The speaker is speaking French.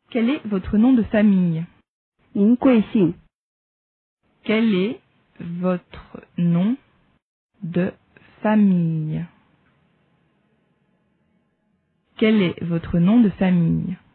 Quel est votre nom de famille? 您贵姓？ Quel est votre nom de famille? Quel est votre nom de famille?